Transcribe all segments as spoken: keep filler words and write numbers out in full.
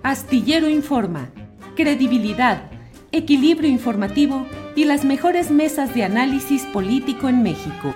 Astillero Informa, credibilidad, equilibrio informativo y las mejores mesas de análisis político en México.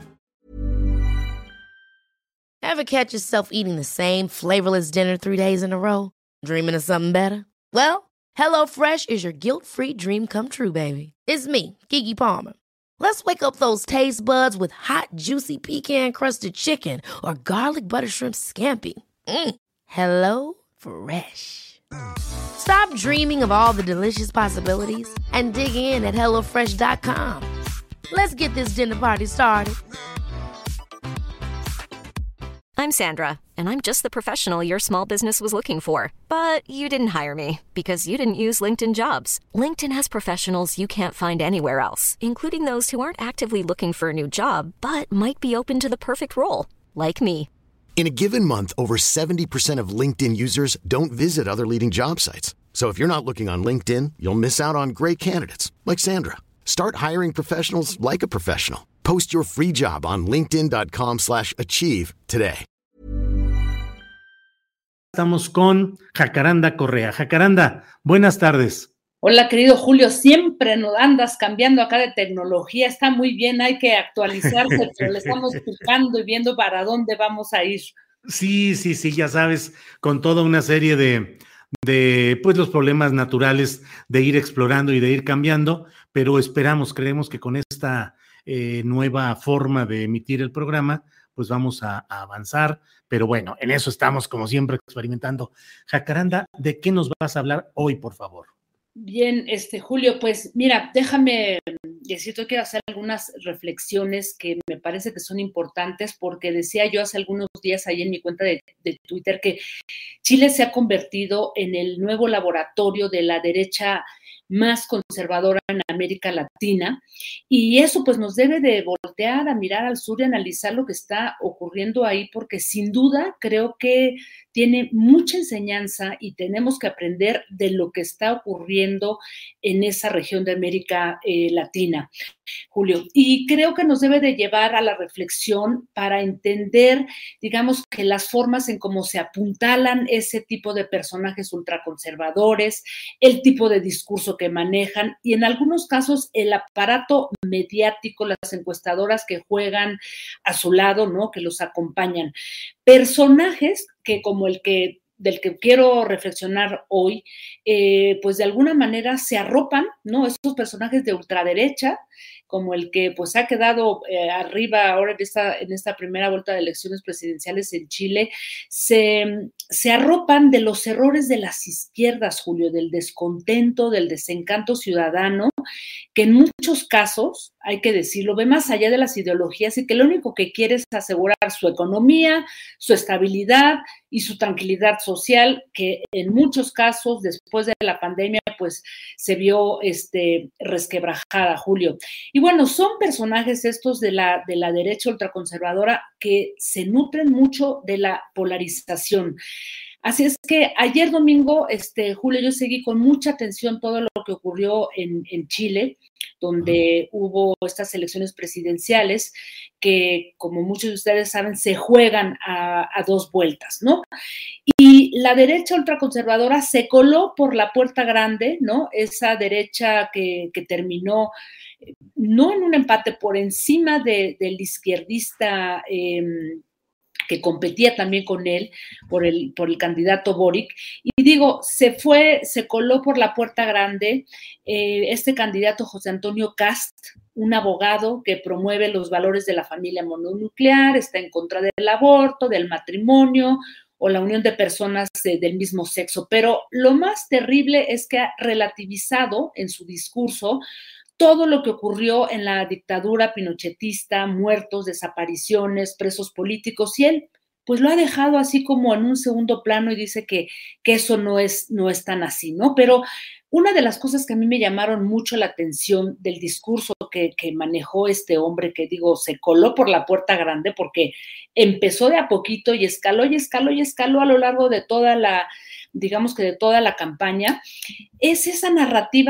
Ever catch yourself eating the same flavorless dinner three days in a row? Dreaming of something better? Well, HelloFresh is your guilt-free dream come true, baby. It's me, Keke Palmer. Let's wake up those taste buds with hot, juicy pecan-crusted chicken or garlic butter shrimp scampi. Mm. Hello Fresh. Stop dreaming of all the delicious possibilities and dig in at hello fresh dot com. Let's get this dinner party started. I'm Sandra, and I'm just the professional your small business was looking for. But you didn't hire me because you didn't use LinkedIn Jobs. LinkedIn has professionals you can't find anywhere else, including those who aren't actively looking for a new job, but might be open to the perfect role, like me. In a given month, over seventy percent of LinkedIn users don't visit other leading job sites. So if you're not looking on LinkedIn, you'll miss out on great candidates like Sandra. Start hiring professionals like a professional. Post your free job on linkedin dot com slash achieve today. Estamos con Jacaranda Correa. Jacaranda, buenas tardes. Hola, querido Julio, siempre nos andas cambiando acá de tecnología, está muy bien, hay que actualizarse, pero le estamos picando y viendo para dónde vamos a ir. Sí, sí, sí, ya sabes, con toda una serie de, de pues los problemas naturales de ir explorando y de ir cambiando, pero esperamos, creemos que con esta eh, nueva forma de emitir el programa, pues vamos a, a avanzar, pero bueno, en eso estamos como siempre experimentando. Jacaranda, ¿de qué nos vas a hablar hoy, por favor? Bien, este Julio, pues mira, déjame decirte que quiero hacer algunas reflexiones que me parece que son importantes porque decía yo hace algunos días ahí en mi cuenta de, de Twitter que Chile se ha convertido en el nuevo laboratorio de la derecha más conservadora en América Latina y eso pues nos debe de voltear a mirar al sur y analizar lo que está ocurriendo ahí porque sin duda creo que tiene mucha enseñanza y tenemos que aprender de lo que está ocurriendo en esa región de América eh, Latina, Julio. Y creo que nos debe de llevar a la reflexión para entender, digamos, que las formas en cómo se apuntalan ese tipo de personajes ultraconservadores, el tipo de discurso que manejan y en algunos casos el aparato mediático, las encuestadoras que juegan a su lado, ¿no? Que los acompañan. Personajes que como el que del que quiero reflexionar hoy, eh, pues de alguna manera se arropan, ¿no? Estos personajes de ultraderecha, como el que pues ha quedado eh, arriba ahora en esta, en esta primera vuelta de elecciones presidenciales en Chile, se, se arropan de los errores de las izquierdas, Julio, del descontento, del desencanto ciudadano, que en muchos casos, hay que decirlo, ve más allá de las ideologías y que lo único que quiere es asegurar su economía, su estabilidad y su tranquilidad social, que en muchos casos, después de la pandemia, pues se vio este, resquebrajada, Julio. Y bueno, son personajes estos de la, de la derecha ultraconservadora que se nutren mucho de la polarización. Así es que ayer domingo, este, Julio, yo seguí con mucha atención todo lo que ocurrió en, en Chile, donde hubo estas elecciones presidenciales que, como muchos de ustedes saben, se juegan a, a dos vueltas, ¿no? Y la derecha ultraconservadora se coló por la puerta grande, ¿no? Esa derecha que, que terminó no en un empate por encima de, del izquierdista eh, que competía también con él por el, por el candidato Boric, y digo, se fue, se coló por la puerta grande eh, este candidato José Antonio Kast, un abogado que promueve los valores de la familia mononuclear, está en contra del aborto, del matrimonio o la unión de personas eh, del mismo sexo, pero lo más terrible es que ha relativizado en su discurso todo lo que ocurrió en la dictadura pinochetista, muertos, desapariciones, presos políticos, y él pues lo ha dejado así como en un segundo plano y dice que, que eso no es, no es tan así, ¿no? Pero una de las cosas que a mí me llamaron mucho la atención del discurso que, que manejó este hombre, que digo, se coló por la puerta grande porque empezó de a poquito y escaló y escaló y escaló a lo largo de toda la, digamos que de toda la campaña, es esa narrativa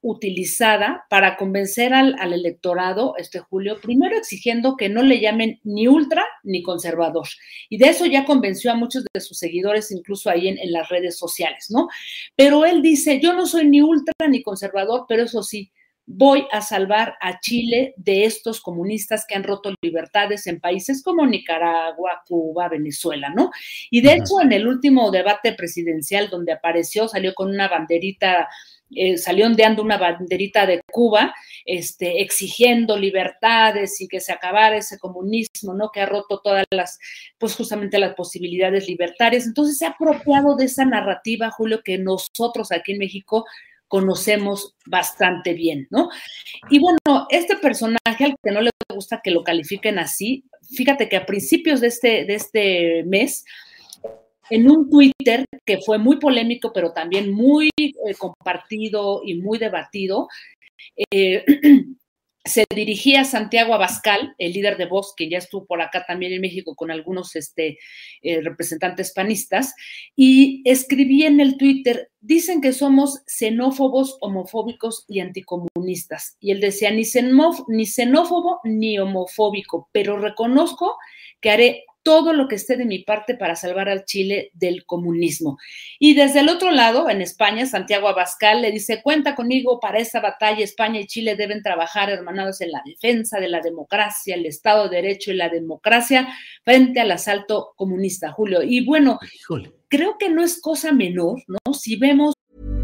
utilizada para convencer al, al electorado, este Julio, primero exigiendo que no le llamen ni ultra ni conservador. Y de eso ya convenció a muchos de sus seguidores, incluso ahí en, en las redes sociales, ¿no? Pero él dice, yo no soy ni ultra ni conservador, pero eso sí, voy a salvar a Chile de estos comunistas que han roto libertades en países como Nicaragua, Cuba, Venezuela, ¿no? Y de hecho, en el último debate presidencial donde apareció, salió con una banderita, eh, salió ondeando una banderita de Cuba, este, exigiendo libertades y que se acabara ese comunismo, ¿no? Que ha roto todas las, pues justamente las posibilidades libertarias. Entonces se ha apropiado de esa narrativa, Julio, que nosotros aquí en México conocemos bastante bien, ¿no? Y bueno, este personaje al que no le gusta que lo califiquen así, fíjate que a principios de este, de este mes, en un Twitter que fue muy polémico, pero también muy eh, compartido y muy debatido, eh, se dirigía a Santiago Abascal, el líder de Vox, que ya estuvo por acá también en México con algunos este, eh, representantes panistas, y escribí en el Twitter, dicen que somos xenófobos, homofóbicos y anticomunistas. Y él decía, ni, xenóf ni xenófobo ni homofóbico, pero reconozco que haré todo lo que esté de mi parte para salvar al Chile del comunismo. Y desde el otro lado, en España, Santiago Abascal le dice, cuenta conmigo para esa batalla, España y Chile deben trabajar hermanados en la defensa de la democracia, el Estado de Derecho y la democracia frente al asalto comunista, Julio. Y bueno, Híjole. creo que no es cosa menor, ¿no? Si vemos...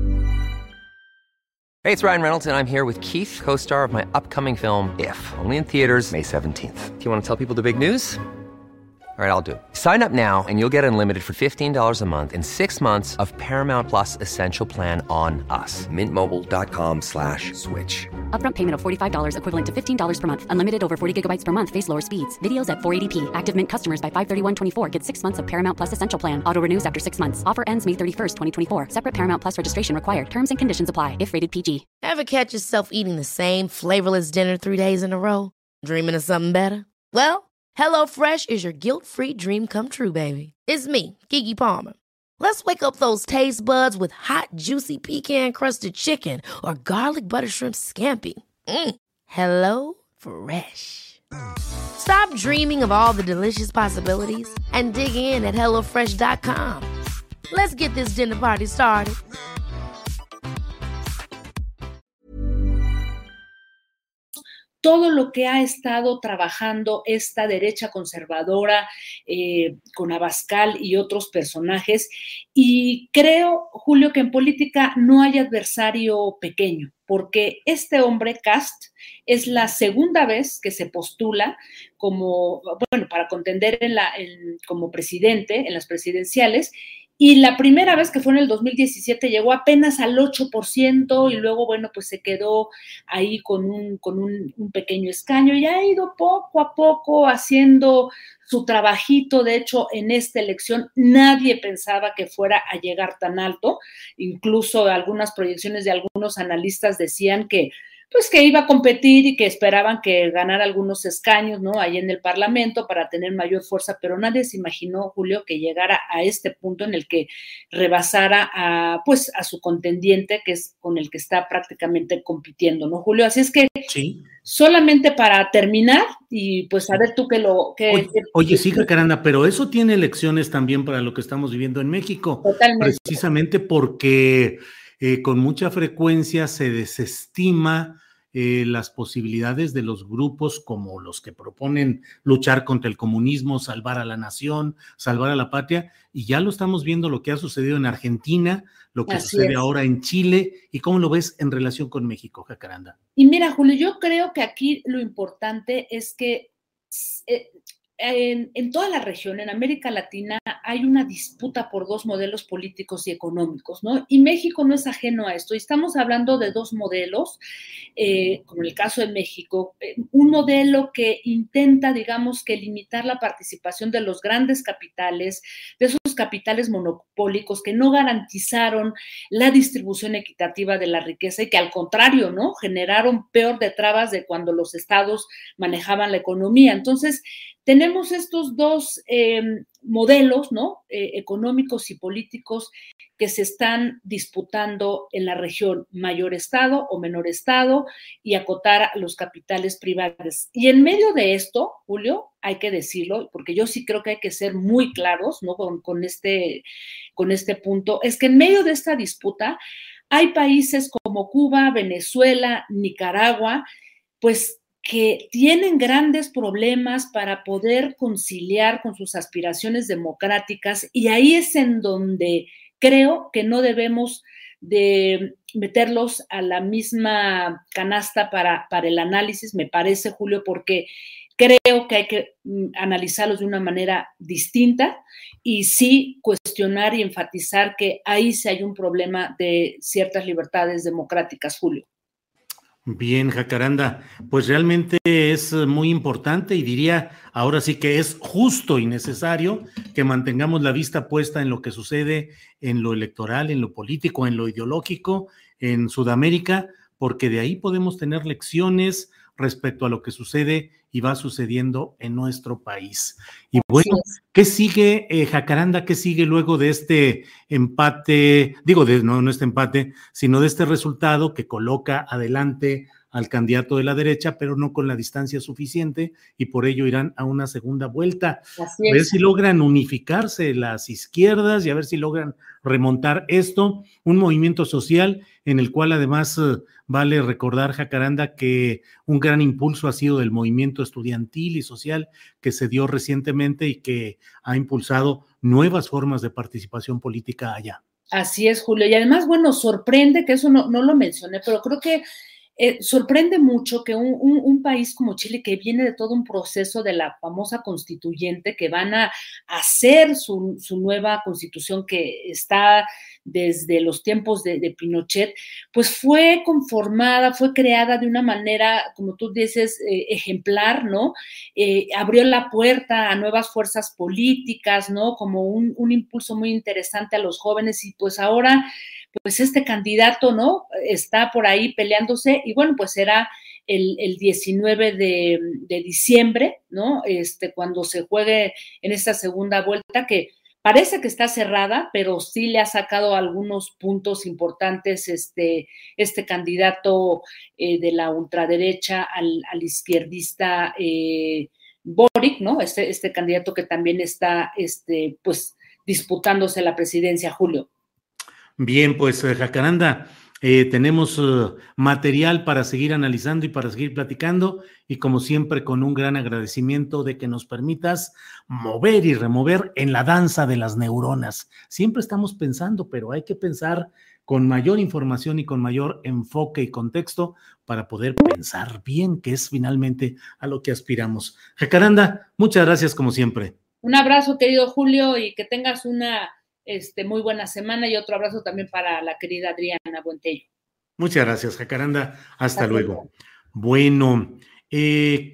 Hey, it's Ryan Reynolds, and I'm here with Keith, co-star of my upcoming film, If, only in theaters May seventeenth. Do you want to tell people the big news? All right, I'll do it. Sign up now and you'll get unlimited for fifteen dollars a month and six months of Paramount Plus Essential Plan on us. Mint Mobile dot com slash switch. Upfront payment of forty-five dollars equivalent to fifteen dollars per month. Unlimited over forty gigabytes per month. Face lower speeds. Videos at four eighty p. Active Mint customers by five thirty-one twenty-four get six months of Paramount Plus Essential Plan. Auto renews after six months. Offer ends May thirty-first, twenty twenty-four. Separate Paramount Plus registration required. Terms and conditions apply if rated P G. Ever catch yourself eating the same flavorless dinner three days in a row? Dreaming of something better? Well, HelloFresh is your guilt-free dream come true, baby. It's me, Keke Palmer. Let's wake up those taste buds with hot, juicy pecan-crusted chicken or garlic butter shrimp scampi. Mm. Hello Fresh. Stop dreaming of all the delicious possibilities and dig in at hello fresh dot com. Let's get this dinner party started. Todo lo que ha estado trabajando esta derecha conservadora eh, con Abascal y otros personajes. Y creo, Julio, que en política no hay adversario pequeño, porque este hombre, Kast, es la segunda vez que se postula como, bueno, para contender en la, en, como presidente en las presidenciales. Y la primera vez que fue en el dos mil diecisiete llegó apenas al ocho por ciento y luego, bueno, pues se quedó ahí con un, con un, un pequeño escaño y ha ido poco a poco haciendo su trabajito. De hecho, en esta elección nadie pensaba que fuera a llegar tan alto. Incluso algunas proyecciones de algunos analistas decían que pues que iba a competir y que esperaban que ganara algunos escaños, ¿no? Ahí en el Parlamento para tener mayor fuerza, pero nadie se imaginó, Julio, que llegara a este punto en el que rebasara a, pues, a su contendiente, que es con el que está prácticamente compitiendo, ¿no, Julio? Así es que sí. Solamente para terminar, y pues a ver tú que lo... Que, oye, que, oye, sí, Jacaranda, pero eso tiene lecciones también para lo que estamos viviendo en México. Totalmente. Precisamente porque... Eh, con mucha frecuencia se desestima eh, las posibilidades de los grupos como los que proponen luchar contra el comunismo, salvar a la nación, salvar a la patria, y ya lo estamos viendo lo que ha sucedido en Argentina, lo que Así sucede es. ahora en Chile, y cómo lo ves en relación con México, Jacaranda. Y mira, Julio, yo creo que aquí lo importante es que eh, En, en toda la región, en América Latina, hay una disputa por dos modelos políticos y económicos, ¿no? Y México no es ajeno a esto. Y estamos hablando de dos modelos, eh, como en el caso de México, eh, un modelo que intenta, digamos, que limitar la participación de los grandes capitales, de esos capitales monopólicos que no garantizaron la distribución equitativa de la riqueza y que al contrario, ¿no? Generaron peor de trabas de cuando los estados manejaban la economía. Entonces, tenemos estos dos, eh, modelos, ¿no? Eh, económicos y políticos que se están disputando en la región, mayor estado o menor estado, y acotar los capitales privados. Y en medio de esto, Julio, hay que decirlo, porque yo sí creo que hay que ser muy claros, ¿no? Con, con, este, con este punto, es que en medio de esta disputa hay países como Cuba, Venezuela, Nicaragua, pues que tienen grandes problemas para poder conciliar con sus aspiraciones democráticas, y ahí es en donde creo que no debemos de meterlos a la misma canasta para, para el análisis, me parece, Julio, porque creo que hay que analizarlos de una manera distinta y sí cuestionar y enfatizar que ahí sí hay un problema de ciertas libertades democráticas, Julio. Bien, Jacaranda, pues realmente es muy importante y diría ahora sí que es justo y necesario que mantengamos la vista puesta en lo que sucede en lo electoral, en lo político, en lo ideológico en Sudamérica, porque de ahí podemos tener lecciones respecto a lo que sucede y va sucediendo en nuestro país. Y bueno, ¿qué sigue, eh, Jacaranda? ¿Qué sigue luego de este empate? Digo, de, no, no este empate, sino de este resultado que coloca adelante al candidato de la derecha, pero no con la distancia suficiente, y por ello irán a una segunda vuelta. Así es. A ver si logran unificarse las izquierdas y a ver si logran remontar esto, un movimiento social en el cual además eh, vale recordar, Jacaranda, que un gran impulso ha sido del movimiento estudiantil y social que se dio recientemente y que ha impulsado nuevas formas de participación política allá. Así es, Julio, y además, bueno, sorprende, que eso no, no lo mencioné, pero creo que Eh, sorprende mucho que un, un, un país como Chile, que viene de todo un proceso de la famosa constituyente, que van a hacer su, su nueva constitución que está desde los tiempos de, de Pinochet, pues fue conformada, fue creada de una manera, como tú dices, eh, ejemplar, ¿no? Eh, abrió la puerta a nuevas fuerzas políticas, ¿no? Como un, un impulso muy interesante a los jóvenes, y pues ahora pues este candidato, ¿no? Está por ahí peleándose, y bueno, pues será el, el diecinueve de, de diciembre, ¿no? Este, cuando se juegue en esta segunda vuelta, que parece que está cerrada, pero sí le ha sacado algunos puntos importantes este, este candidato eh, de la ultraderecha al, al izquierdista eh, Boric, ¿no? Este, este candidato que también está, este, pues, disputándose la presidencia, Julio. Bien, pues Jacaranda, eh, tenemos uh, material para seguir analizando y para seguir platicando, y como siempre con un gran agradecimiento de que nos permitas mover y remover en la danza de las neuronas. Siempre estamos pensando, pero hay que pensar con mayor información y con mayor enfoque y contexto para poder pensar bien, que es finalmente a lo que aspiramos. Jacaranda, muchas gracias como siempre. Un abrazo, querido Julio, y que tengas una Este, muy buena semana, y otro abrazo también para la querida Adriana Buentello. Muchas gracias, Jacaranda. Hasta, Hasta luego. luego. Bueno. Eh...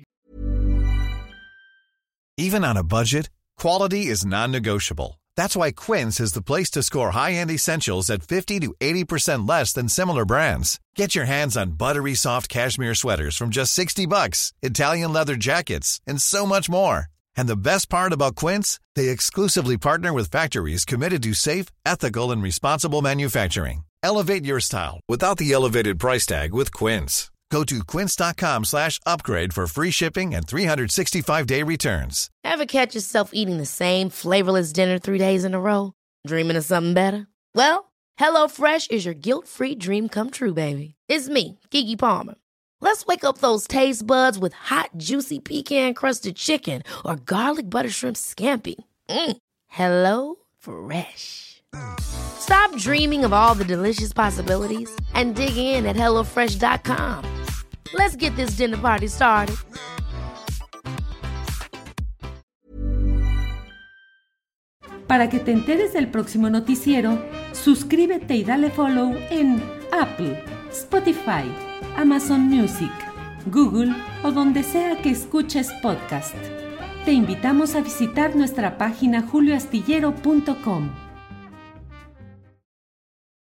Even on a budget, quality is non-negotiable. That's why Quince is the place to score high-end essentials at fifty to eighty percent less than similar brands. Get your hands on buttery soft cashmere sweaters from just sixty bucks, Italian leather jackets, and so much more. And the best part about Quince, they exclusively partner with factories committed to safe, ethical, and responsible manufacturing. Elevate your style without the elevated price tag with Quince. Go to quince.com slash upgrade for free shipping and three sixty-five day returns. Ever catch yourself eating the same flavorless dinner three days in a row? Dreaming of something better? Well, HelloFresh is your guilt-free dream come true, baby. It's me, Keke Palmer. Let's wake up those taste buds with hot, juicy pecan-crusted chicken or garlic butter shrimp scampi. Mm. Hello Fresh. Stop dreaming of all the delicious possibilities and dig in at hello fresh dot com. Let's get this dinner party started. Para que te enteres del próximo noticiero, suscríbete y dale follow en Apple, Spotify, Amazon Music, Google o donde sea que escuches podcast. Te invitamos a visitar nuestra página julio astillero punto com.